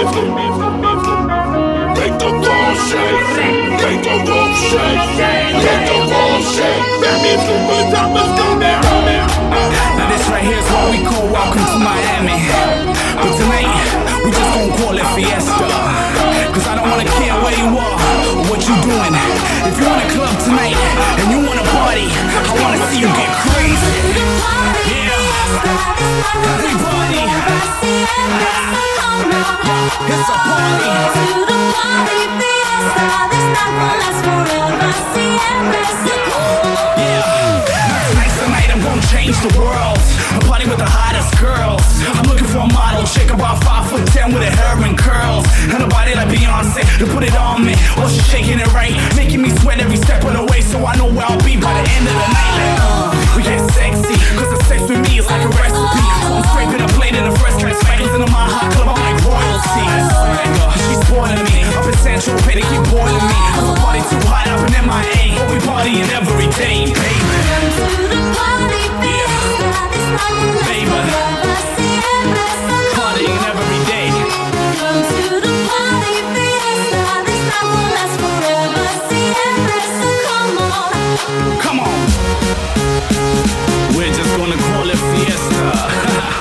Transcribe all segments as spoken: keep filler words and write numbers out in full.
Make the wall shake, make the roof shake, make the wall shake. That means the good times come down. Now this right here is what we call welcome to Miami. But tonight, we just gon' call it Fiesta. Cause I don't wanna care where you are or what you doing. If you in a club tonight and you wanna party, I wanna see you get crazy. Yeah, everybody, it's a party. Yeah, tonight's the night I'm gonna change the world. A party with the hottest girls. I'm looking for a model chick about five foot ten with her hair and curls and a body like Beyonce to put it on me. Oh, she's shaking it right, making me sweat every step of the way. So I know where I'll be by the end of the night. Like, uh, we get sexy, cause the sex with me is like a recipe. So I'm scraping a plate in the first class spangles into my hot club. I'm like royalty. She's spoiling me up in Central Pay, they keep boiling me. Cause the party too hot up in M I A. But we partying every day, baby. Yeah, baby. Partying every day. Come on. We're just gonna call it Fiesta.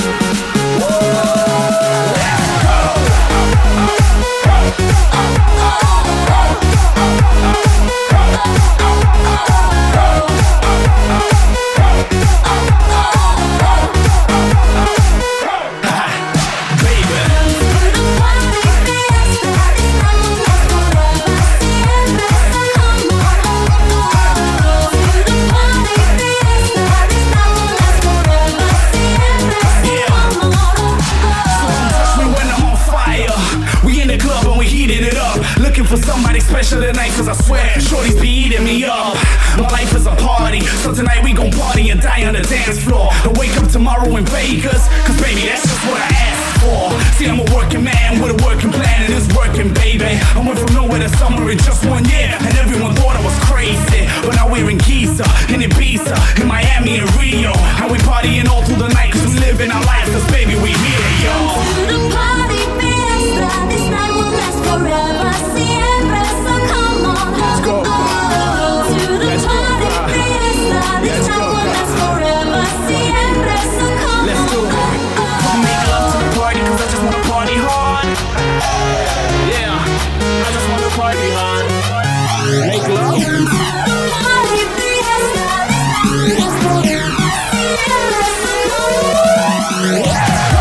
For somebody special tonight, cause I swear shorties be eating me up. My life is a party, so tonight we gon' party and die on the dance floor. And wake up tomorrow in Vegas, cause baby that's just what I asked for. See, I'm a working man with a working plan and it's working, baby. I went from nowhere to somewhere in just one year, and everyone thought I was crazy. But now we're in Giza, in Ibiza, in Miami and Rio. And we partying all through the night, cause we living our life, cause baby we here, y'all. To the party fiesta, this night will last forever. Siempre, so come on. Let's go. Oh, to the Let's party go. fiesta, this Let's night go. will last forever. Siempre, so come Let's on. do it. Come make love to the party, cause I just wanna party hard. Yeah, I just wanna party hard. Make love. Party fiesta, this night will last forever. Siempre, so come on.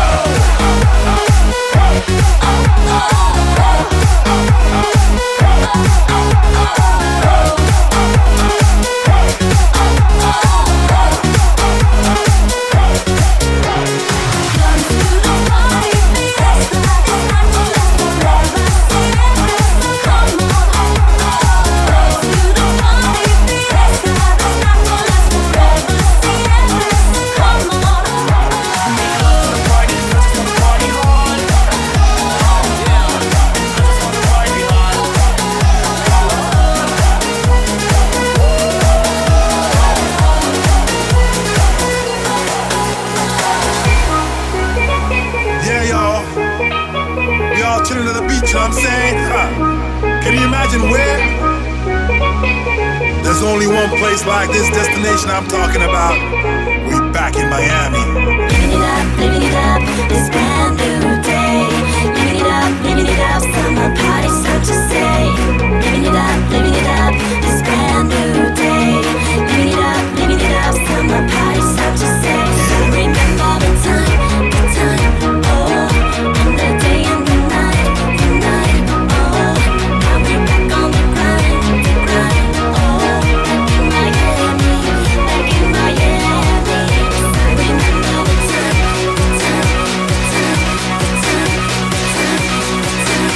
Like this destination I'm talking about, we back in Miami. Living it up, living it up, this brand new day. Living it up, living it up, summer party, so to say. Living it up, living it up, this brand new day. Living it up, living it up, summer party, so to say. So remember the time, the time, oh, and the day and the night, the night, oh. Now we're back on the grind, the grind, oh. Back in Miami, back in Miami. So remember the time, the time, the time, the time, the time,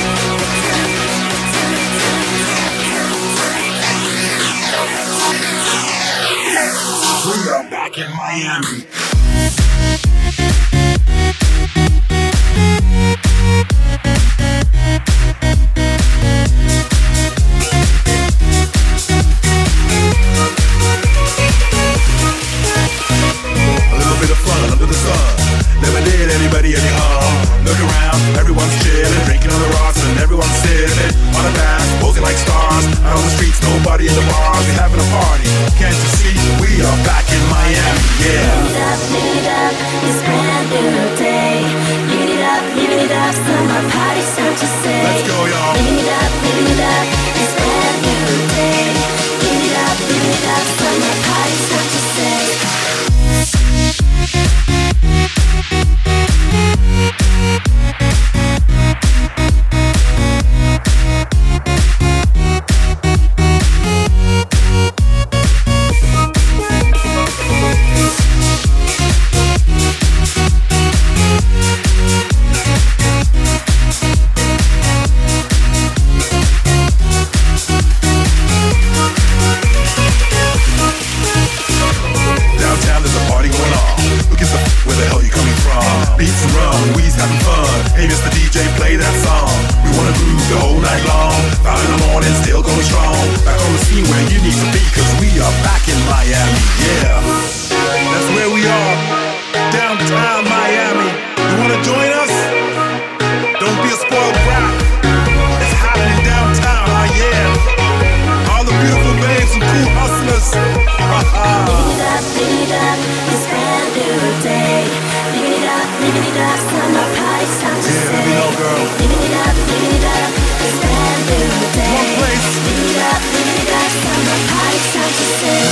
the time, the time. We are back in Miami. A little bit of fun under the sun never did anybody any harm. Look around, everyone's chilling. Hey, Mister D J, play that song. We wanna groove the whole night long. Five in the morning, still going strong. Back on the scene where you need to be, cause we are back in Miami, yeah. That's where we are, downtown Miami. You wanna join us? Don't be a spoiled brat. It's happening downtown, oh yeah. All the beautiful babes and cool hustlers. Living it up, living it up, this brand new day. Living it up, living it up, summer party, time to Yeah, say. let me know, girl. Living it up, living it up, this brand new day. One place. Living it up, living it up, summer party, time to say.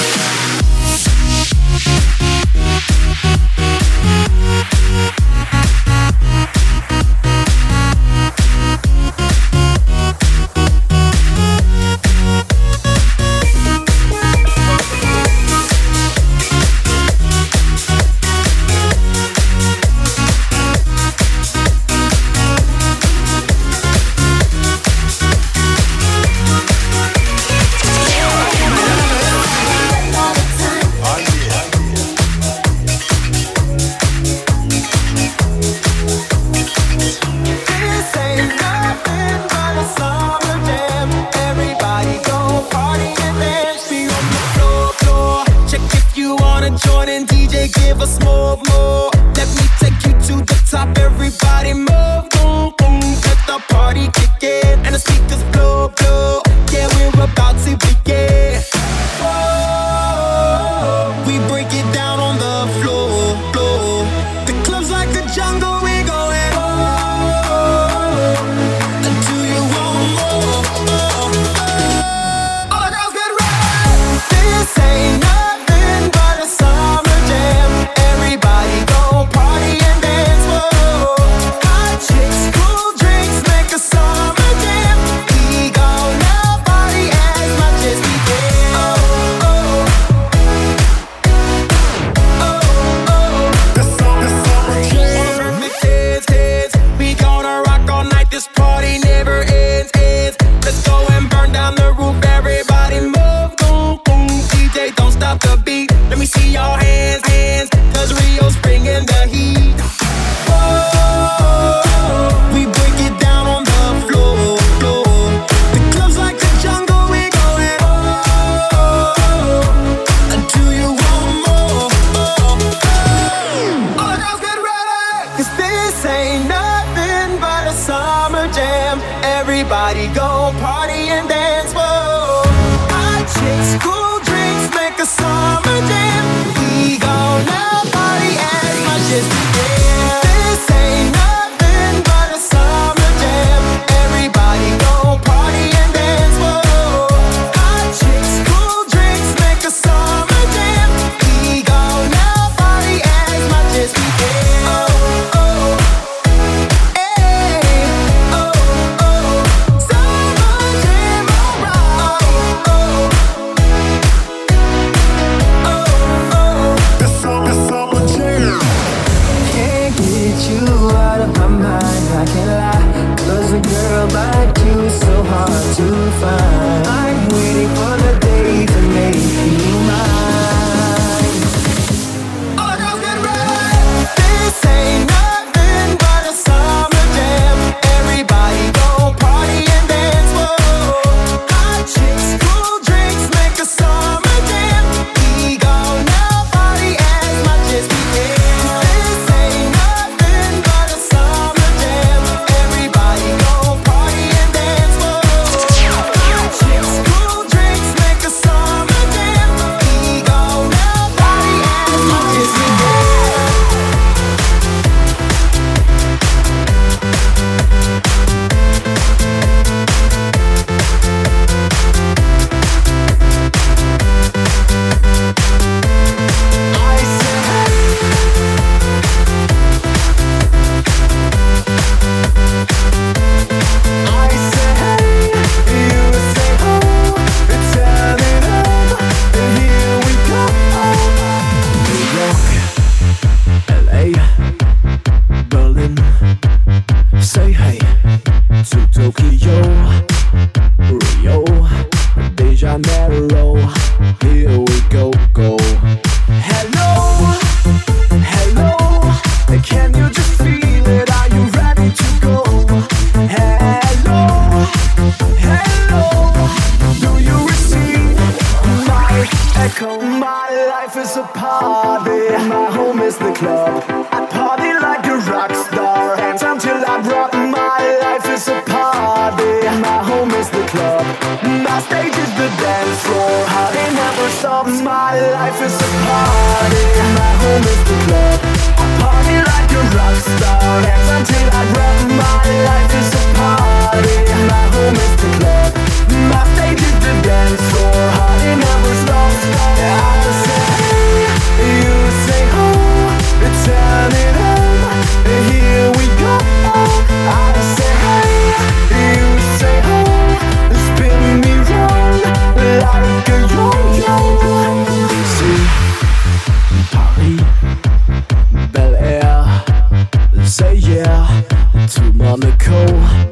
party. My home is the club. I party like a rock star. Dance until I drop. My life is a party. My home is the club. My stage is the dance floor. Party never stops. My life is a party. My home is the club. I party like a rock star. Dance until I drop. My life is a party. My home is the club. My stage is the dance floor. Party never stops. I say hey, you say oh, turn it on. Here we go. I say hey, you say oh, spin me round like a yo-yo. See, Paris, Bel Air, say yeah to Monaco,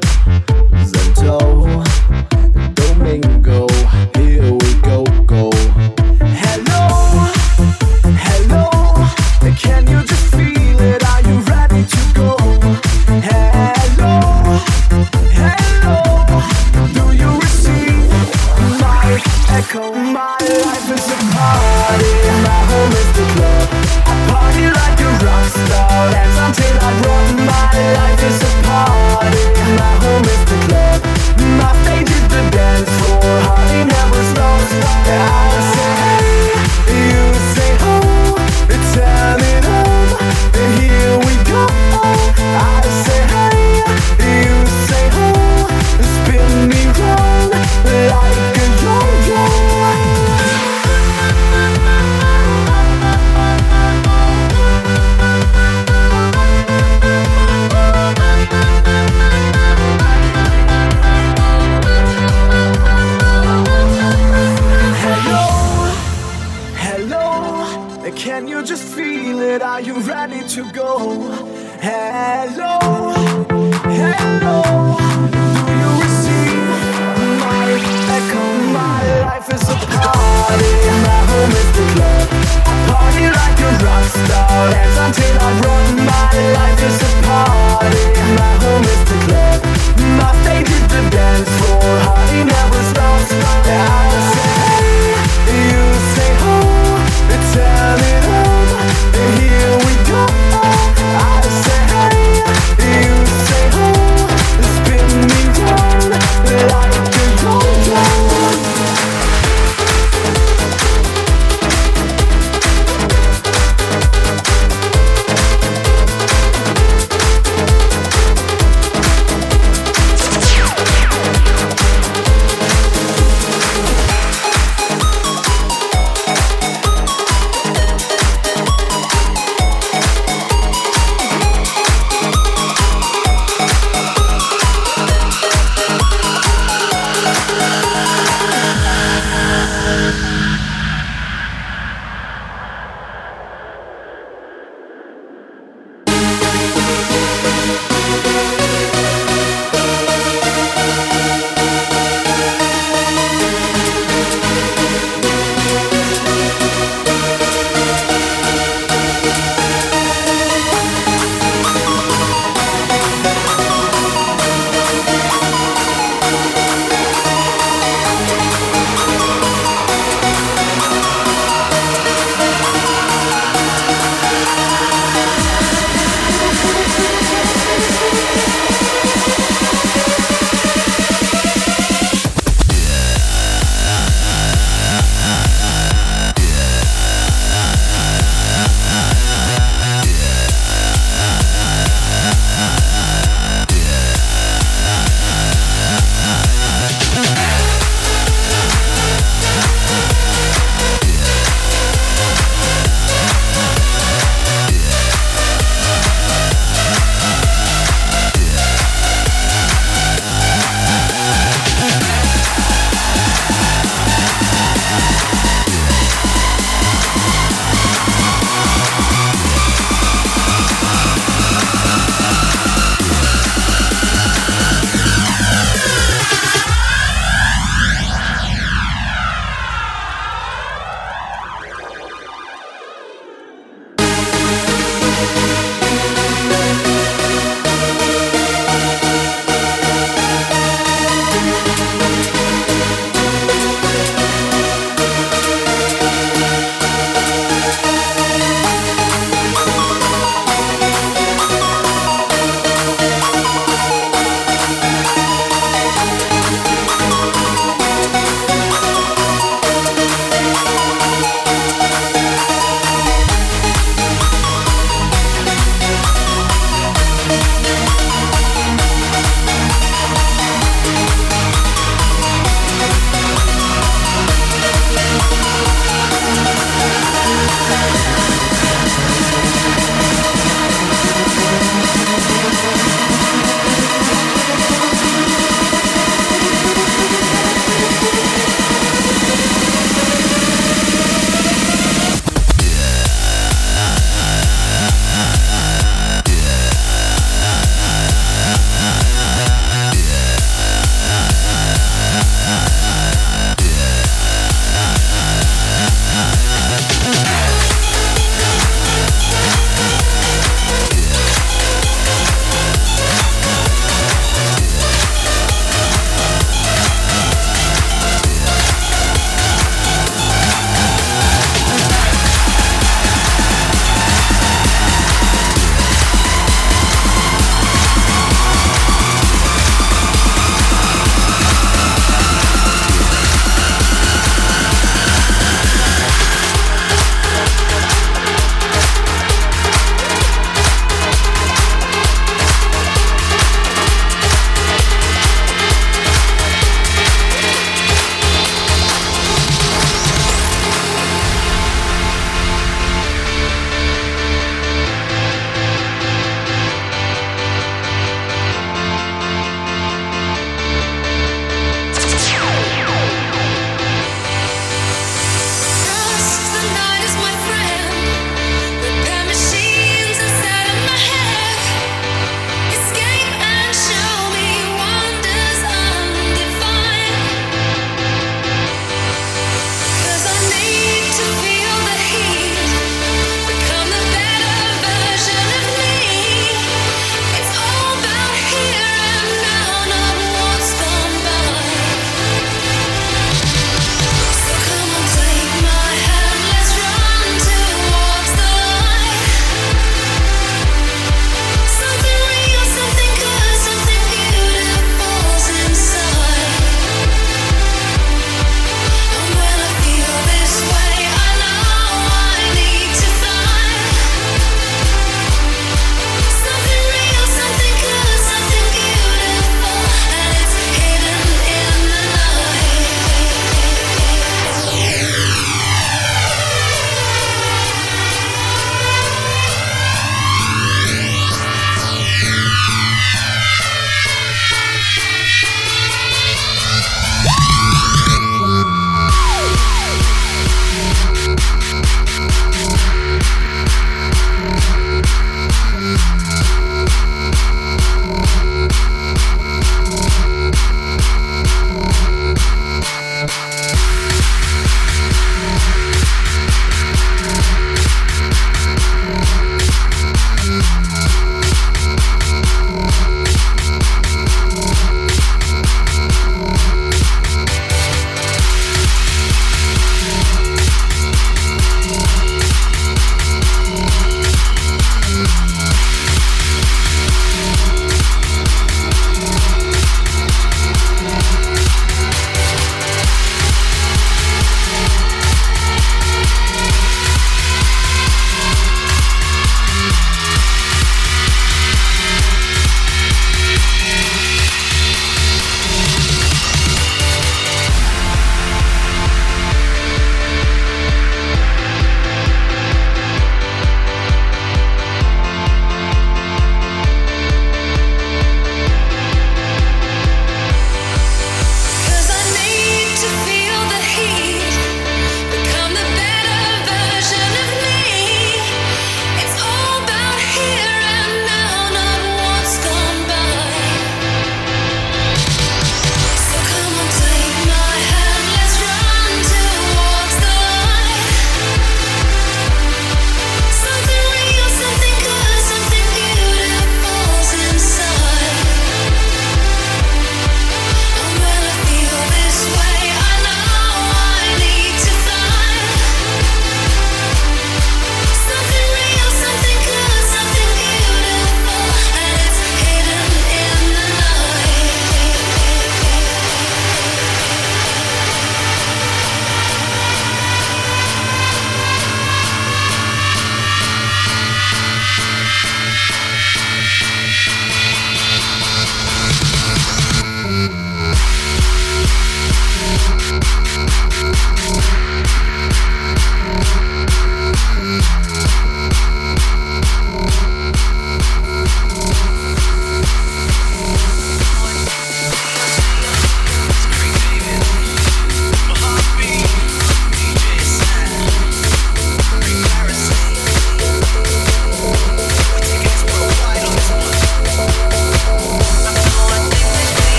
Zendo, Domingo. Here we go, go. Hello, hello, can you just feel it? Are you ready to go? Hello, hello, do you receive my echo? My life is a party, my home is the club. I party like a rock star, dance until I drop. My life is a party, my home is the club. My stage is the dance floor, party never stops. I say hey, you say oh, turn it on. Here we go. I say hey, you say oh, spin me round like a yo-yo. Can you just feel it? Are you ready to go? Hello, hello, do you receive my echo? My life is a party, my home is the club. I party like a rock star, dance until I drop. My life is a party, my home is the club. My stage is the dance floor, party never stops. I say hey, you say oh, turn it on. Here we go. I say hey, you say oh, spin me round like a yo-yo.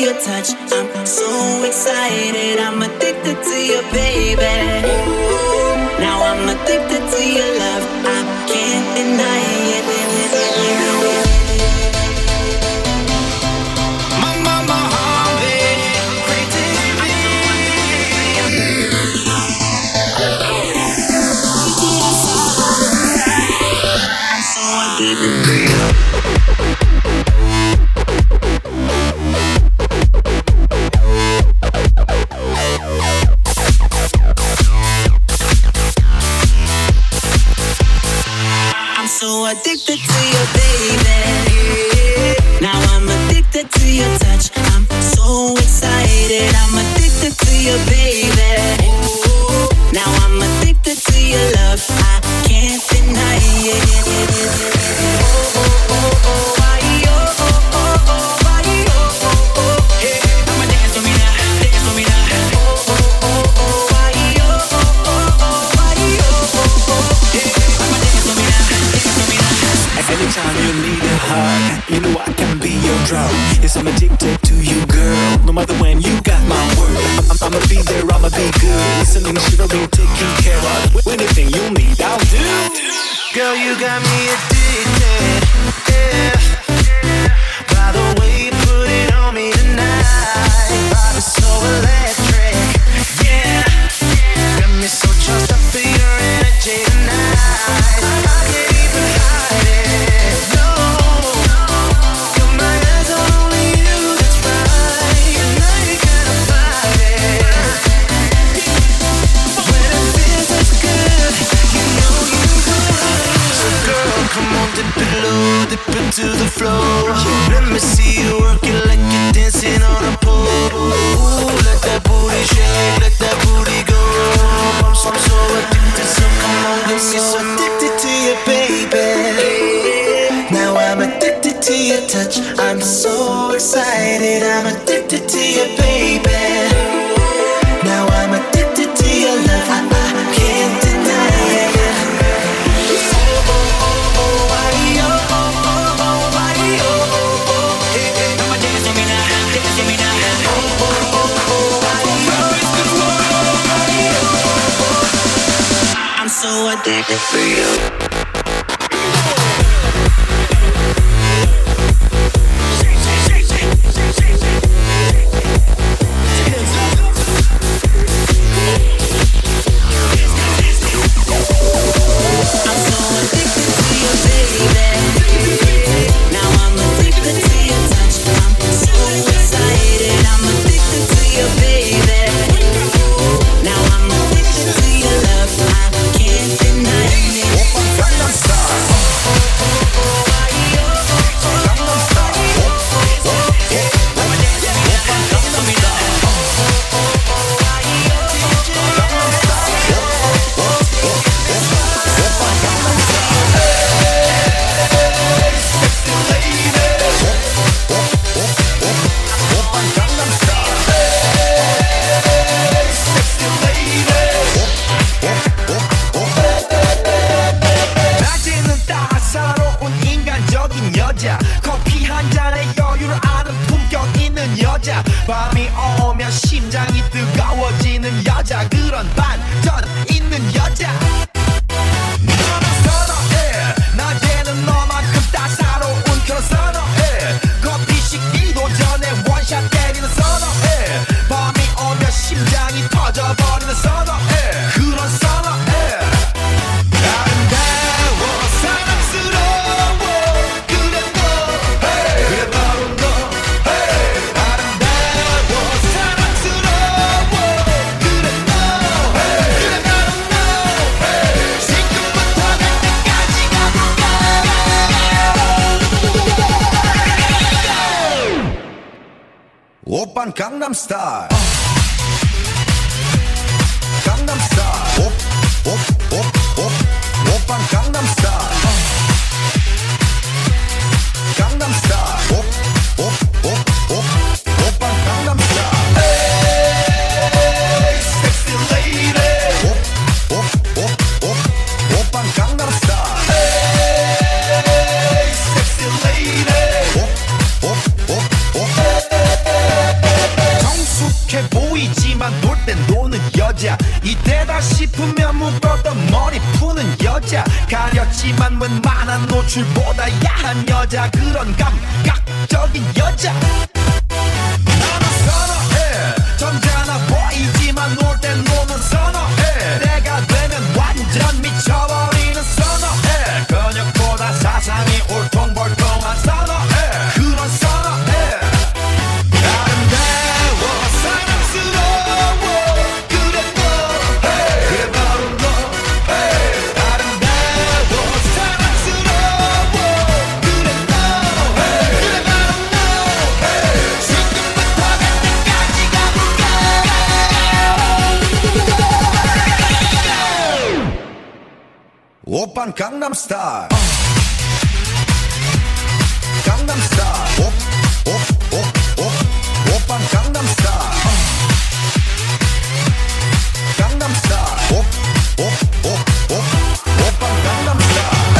your touch. I'm so excited. I'm addicted to you, baby. Now I'm addicted to your love. I can't deny it. I'm so addicted to you, baby. Now I'm addicted to your touch. I'm so excited. I'm addicted to you, baby. Now I'm addicted to your love. I can't deny it. Anytime you need a hug, you know I can be your drug. Yes, I'm addicted to you, girl. No matter when, you got my word. I'm, I'ma be there, I'ma be good. Listening, shivering, taking care of. Anything you need, I'll do. Girl, you got me addicted, yeah. By the way you put it on me tonight, body so electric, yeah. Got me so charged up for your energy tonight. I can't even hide it, no. Got my eyes on only you, that's right. And now you gotta fight it. When it feels so good, you know you go right. So girl, come on, dip it low, dip it to the floor. Let me see you work it like you're dancing on a pole. Ooh, let that booty shake, let that booty go. I'm so, I'm so addicted, so come on, I'm so addicted to you, baby. Now I'm addicted to your touch. I'm so excited. I'm addicted to you, baby. Now I'm addicted to your love. I, I can't deny it. I'm so addicted to you. 밤이 오면 심장이 뜨거워지는 여자, 그런 반전 있는 여자. 너는 선어해, 낮에는 너만큼 따사로운 그런 선어해. 커피 식기도 전에 원샷 때리는 선어해. 밤이 오면 심장이 터져버리는 선어해. 그런 선어해. 아름다워 사랑스러워 그래 너, hey. 그래 바로 너. 오빤 강남스타일 강남스타일 옵옵옵옵 오빤 강남스타일 강남스타일 옵옵옵옵 오빤 강남스타일 에이 섹시 레이디 옵옵옵옵 오빤 강남스타일 에이 섹시 레이디 옵옵옵옵 여자 이때다 싶으면 묶었던 머리 푸는 여자 가렸지만 웬만한 노출보다 야한 여자 그런 감각적인 여자 나는 선어해 점잖아 보이지만 놀 땐 노는 선어해 내가 되면 완전 미쳐버리는 선어해 근육보다 사상이 울퉁불퉁한 선어해 그런 선어해 아름다워 사랑스러워 그래 너 그래 바로 너 아름다워 사랑스러워 그래 너 그래 바로 너 지금부터 갈 때까지 가볼까 오빤 강남스타일 강남스타일 오, 오, 오, 오, 오빤 강남스타일 강남스타일 오, 오, 오, 오, 오빤 강남스타일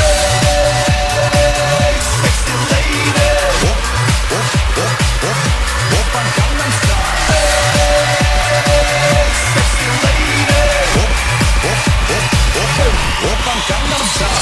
Sexy lady 오, 오, 오, 오, 오빤 강남스타일 Sexy lady 오, 오, 오, 오, 오빤 강남스타일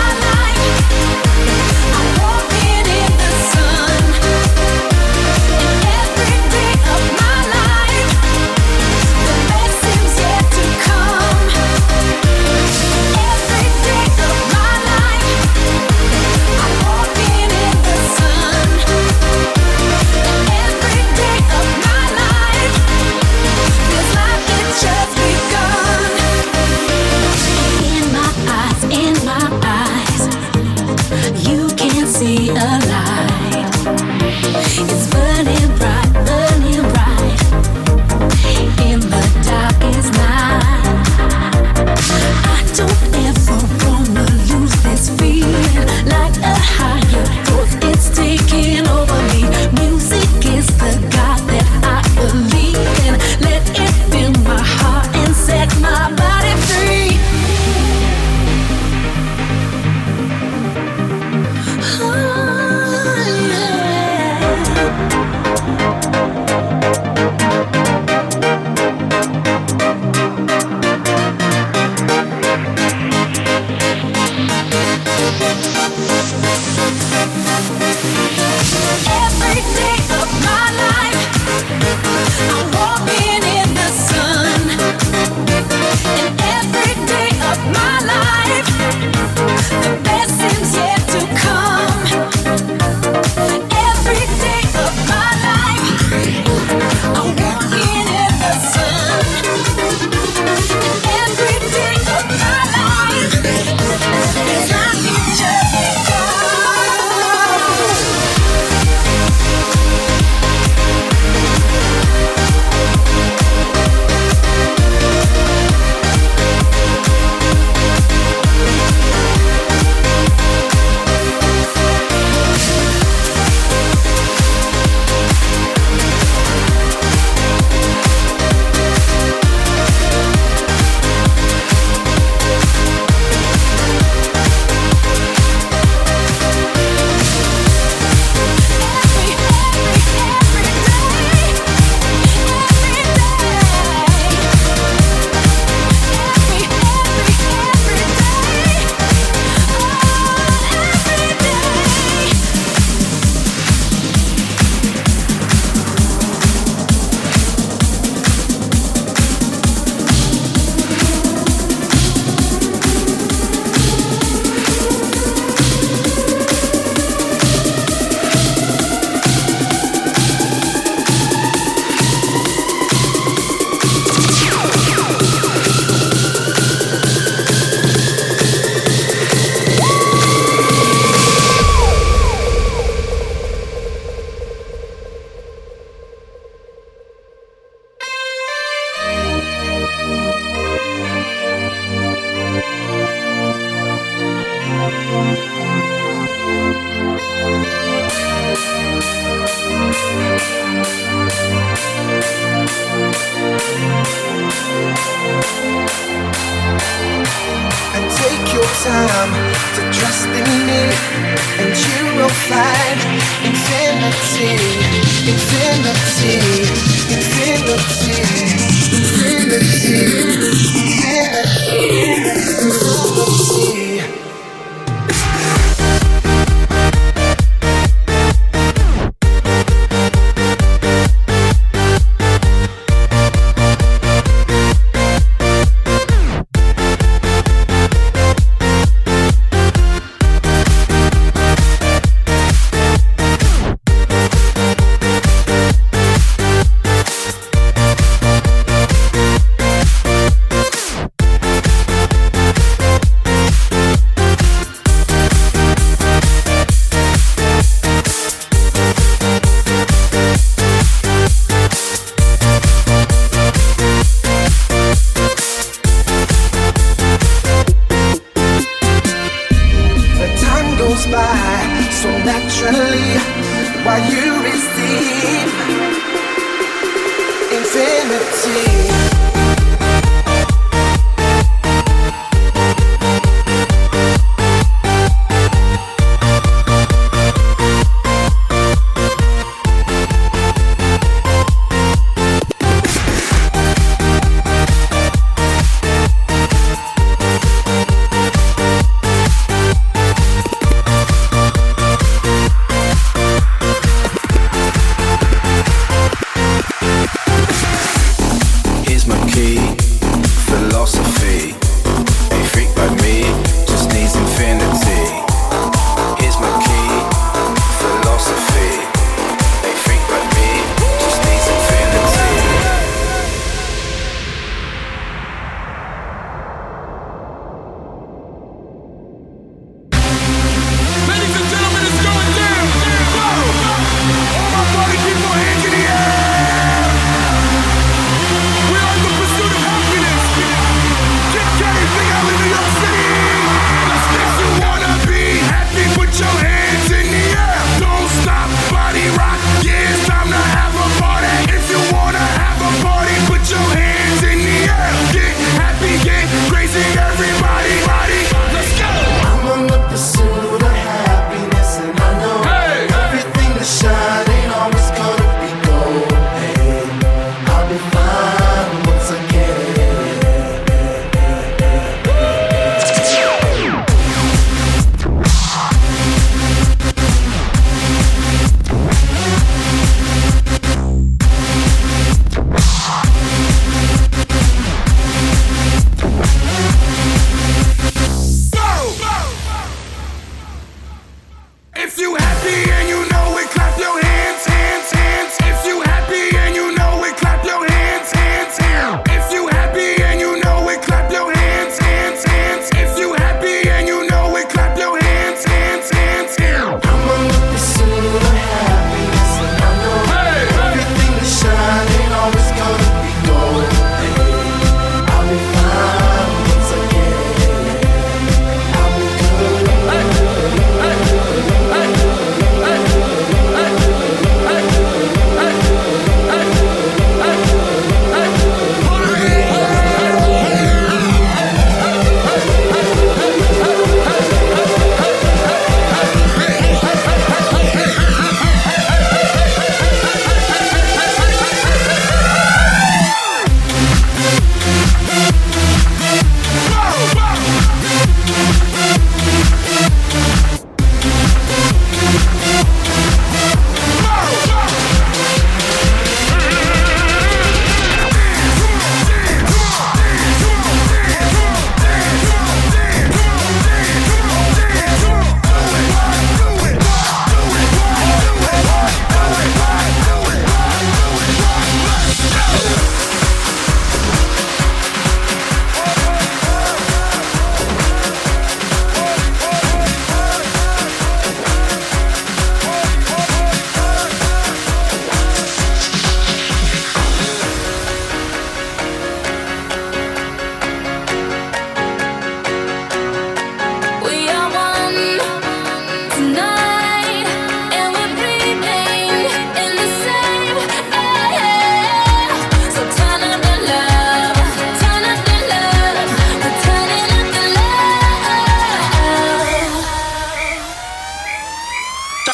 Walking in the sun. time to trust in me, and you will find infinity, infinity, infinity, infinity, infinity, infinity.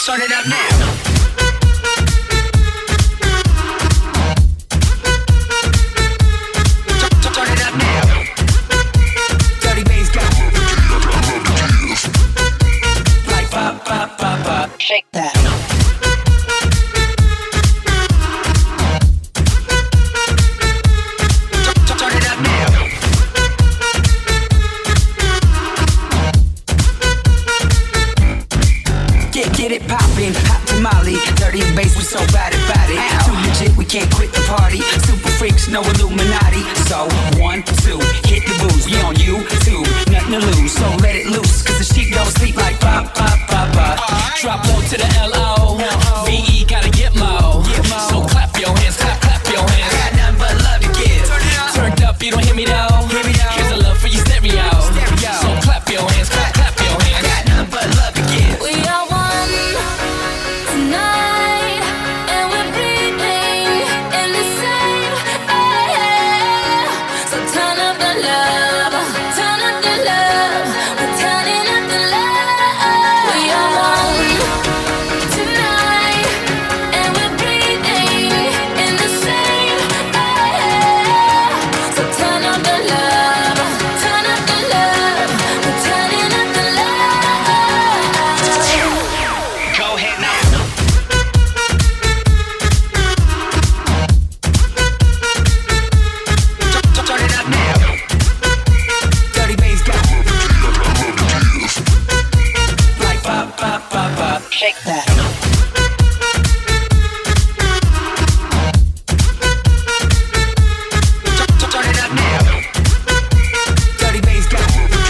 Start it up now. Shake that. Turn it up now. Get get it poppin', hot tamale, dirty bass, we so bad about it. Too legit, we can't quit the party. Super freaks, no Illuminati. So one, two, hit the booze. We on YouTube, nothing to lose. So let it loose, cause the sheep don't sleep like pop, pop, pop, pop. Drop low to the L O. V E gotta get low. So clap your hands, clap, clap your hands. Got nothing but love to give. Turned up, you don't hear me though. Here's a love for your stereo. So clap your hands, clap, clap your hands. Got nothing but love to give. We are one tonight, and we're breathing in the same air. So turn up the love, turn up the love, we're turning up the love. We are one tonight, and we're breathing in the same air. So turn up the love, turn up the love, we're turning up the love. Go ahead now. Turn it up now. Dirty bass got like pop, pop, pop, pop. Shake that. Turn it up now. Dirty bass got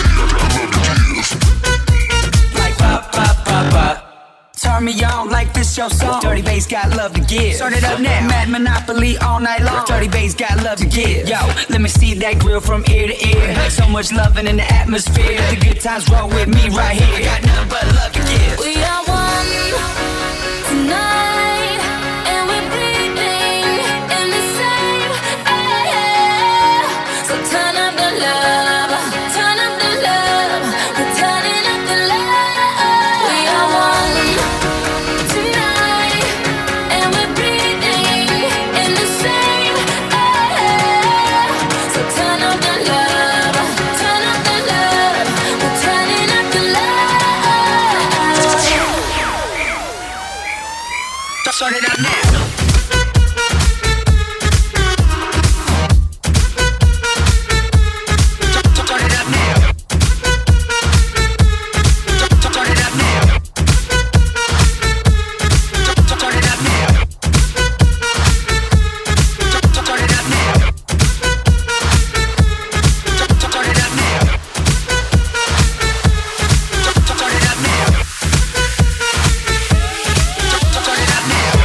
like pop, pop, pop, pop. Turn me on like this your song. Dirty bass got love to give. Turn it up now. Mad Monopoly all night long. Dirty bass got love to give. Yo, let me see that grill from ear to ear. So much loving in the atmosphere. The good times roll with me right here. Got nothing but love to give. We are one tonight, and we're breathing in the same air. So turn up the love, turn up the love, we're turning up the love. We are one tonight, and we're breathing in the same air. So turn up the love, turn up the love, we're turning up the love. Turn it up now. Turn it up now. Turn it up now. Turn it up now. Turn it up now. Turn it up now. Turn it up now. Turn it up now.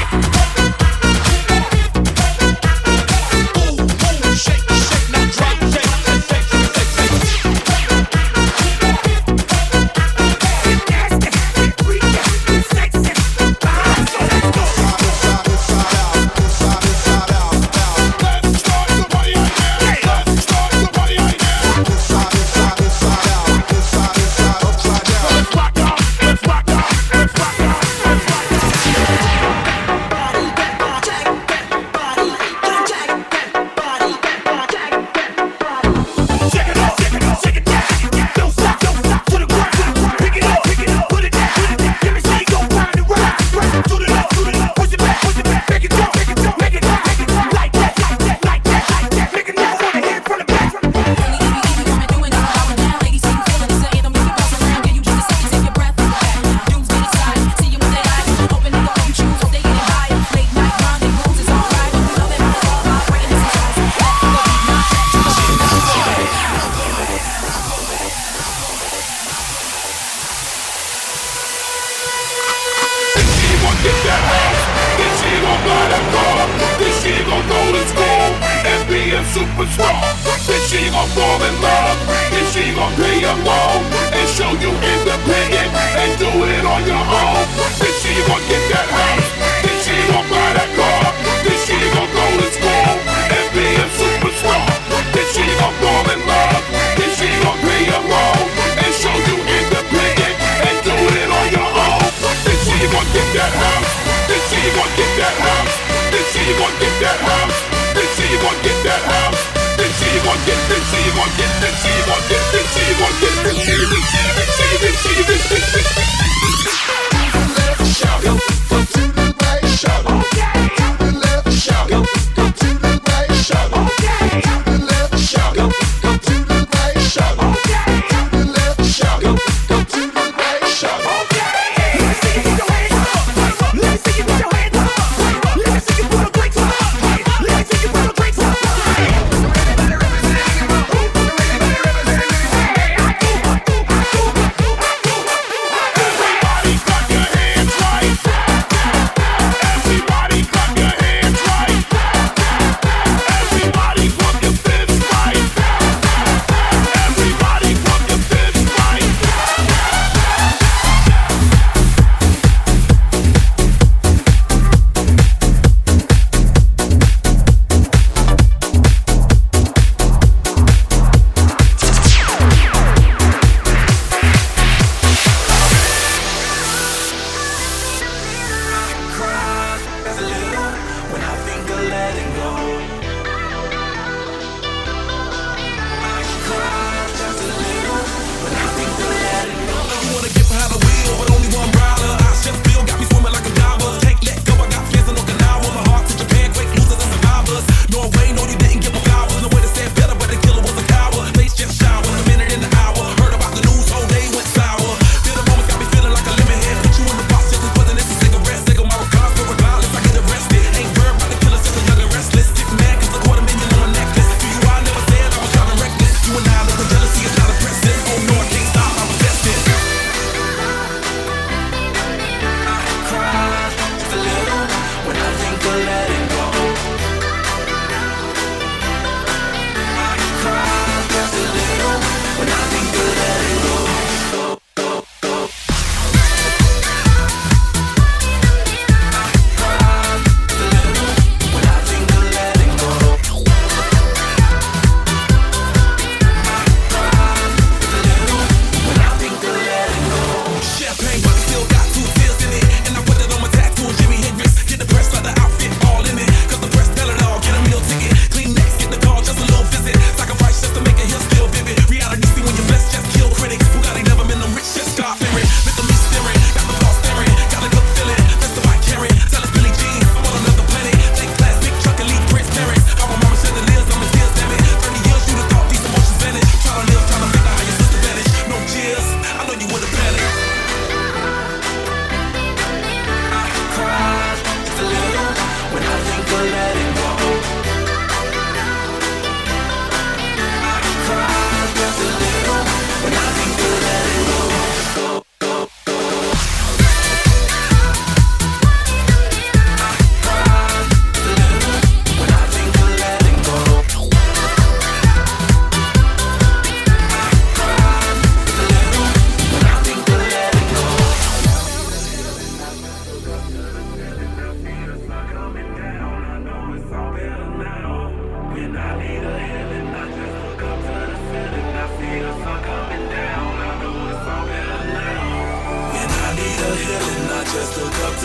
Superstar, then she gon' fall in love, then she gon' pay a loan and show you independent and do it on your own. Then she gon' get that house, then she gon' buy that car, then she gon' go to school and be a superstar. Then she gon' fall in love, then she gon' pay a loan and show you independent and do it on your own. Then she gon' get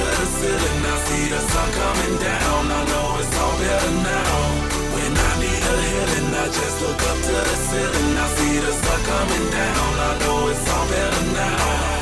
to the ceiling, I see the sun coming down. I know it's all better now. When I need a healing, I just look up to the ceiling. I see the sun coming down. I know it's all better now.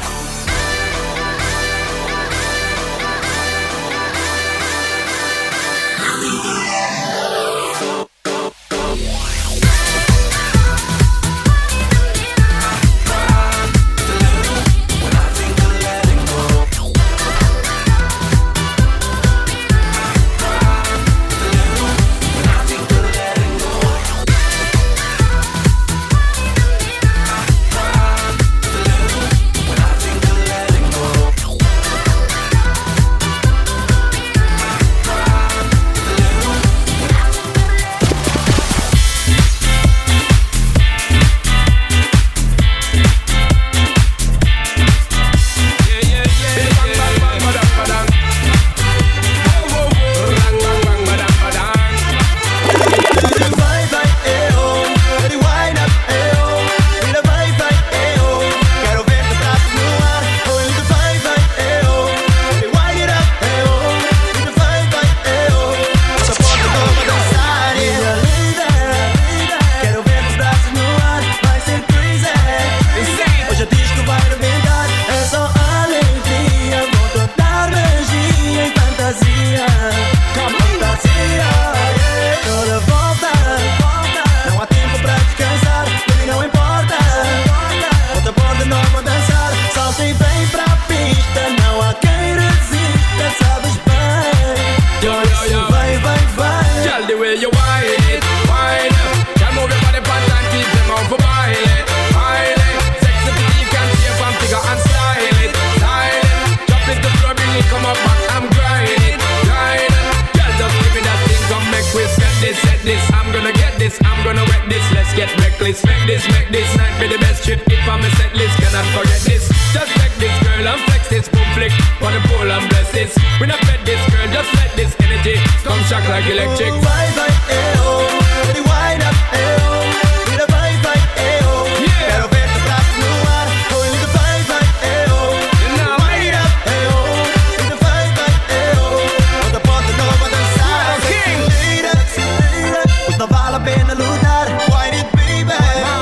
Make this, make this night be the best trip. If I'm a set list, cannot forget this. Just take this girl and flex this, boom flick on the pole and bless this. We not fed this girl, just let this energy come shock like electric. Vibe like eh oh, ready wind up eh oh, with a vibe like eh oh. Quero ver tu braço no ar, going with the vibe like eh oh. Wind up eh oh, with the vibe like eh oh. Quando a porta nova dançar, acelera, acelera, pois não vale a pena lutar. Wind it baby,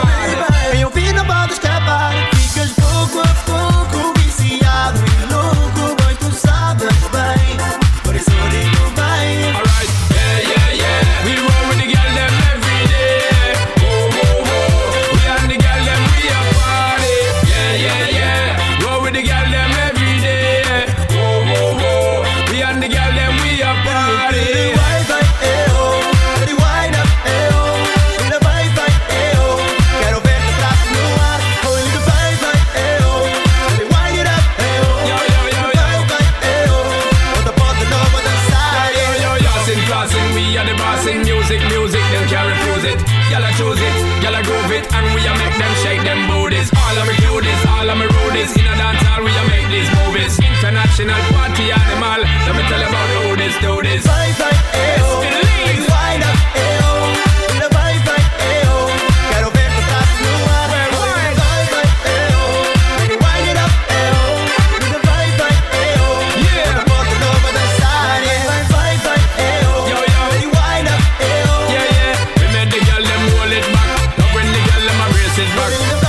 vem ouvir na banda escapar. Ficas pouco a pouco viciado e louco, bem tu sabes bem. Por isso digo bem. Alright, yeah, yeah, yeah. We roll with the girl them every day. Oh, oh, oh. We and the girl them we a party. Yeah, yeah, yeah. Roll with the girl them every day. Oh, oh, oh. We and the girl them we a party. Wind like eh oh, ready wind up eh oh, with a vibe like eh oh. Quero ver tu braço no ar, going with the vibe like eh oh. Ready wind it up eh oh, Yo, yo, yo, with the yo. vibe like eh oh. Quando a porta nova dançar. Yo, yo, yo, sing, flossing, we are the boss in music, music, them can't refuse it. Y'all a choose it, y'all a groove it, and we a make them shake them booties. All of me cuties, all of me rudies, in a dance hall we a make these movies. International party animal, let me tell you about who this do this. Vibe like eh oh, ready wind up eh oh, with a vibe like eh oh. Quero ver tu braço no ar, going with the vibe like eh oh. Ready wind it up eh oh, with a vibe like eh oh. Yeah. Quando a porta nova dançar, yeah. Vibe like eh oh, Yo, yo. ready wind up eh oh. Yeah, yeah, we made the girl them roll it back. Love when the girl them a brace it back.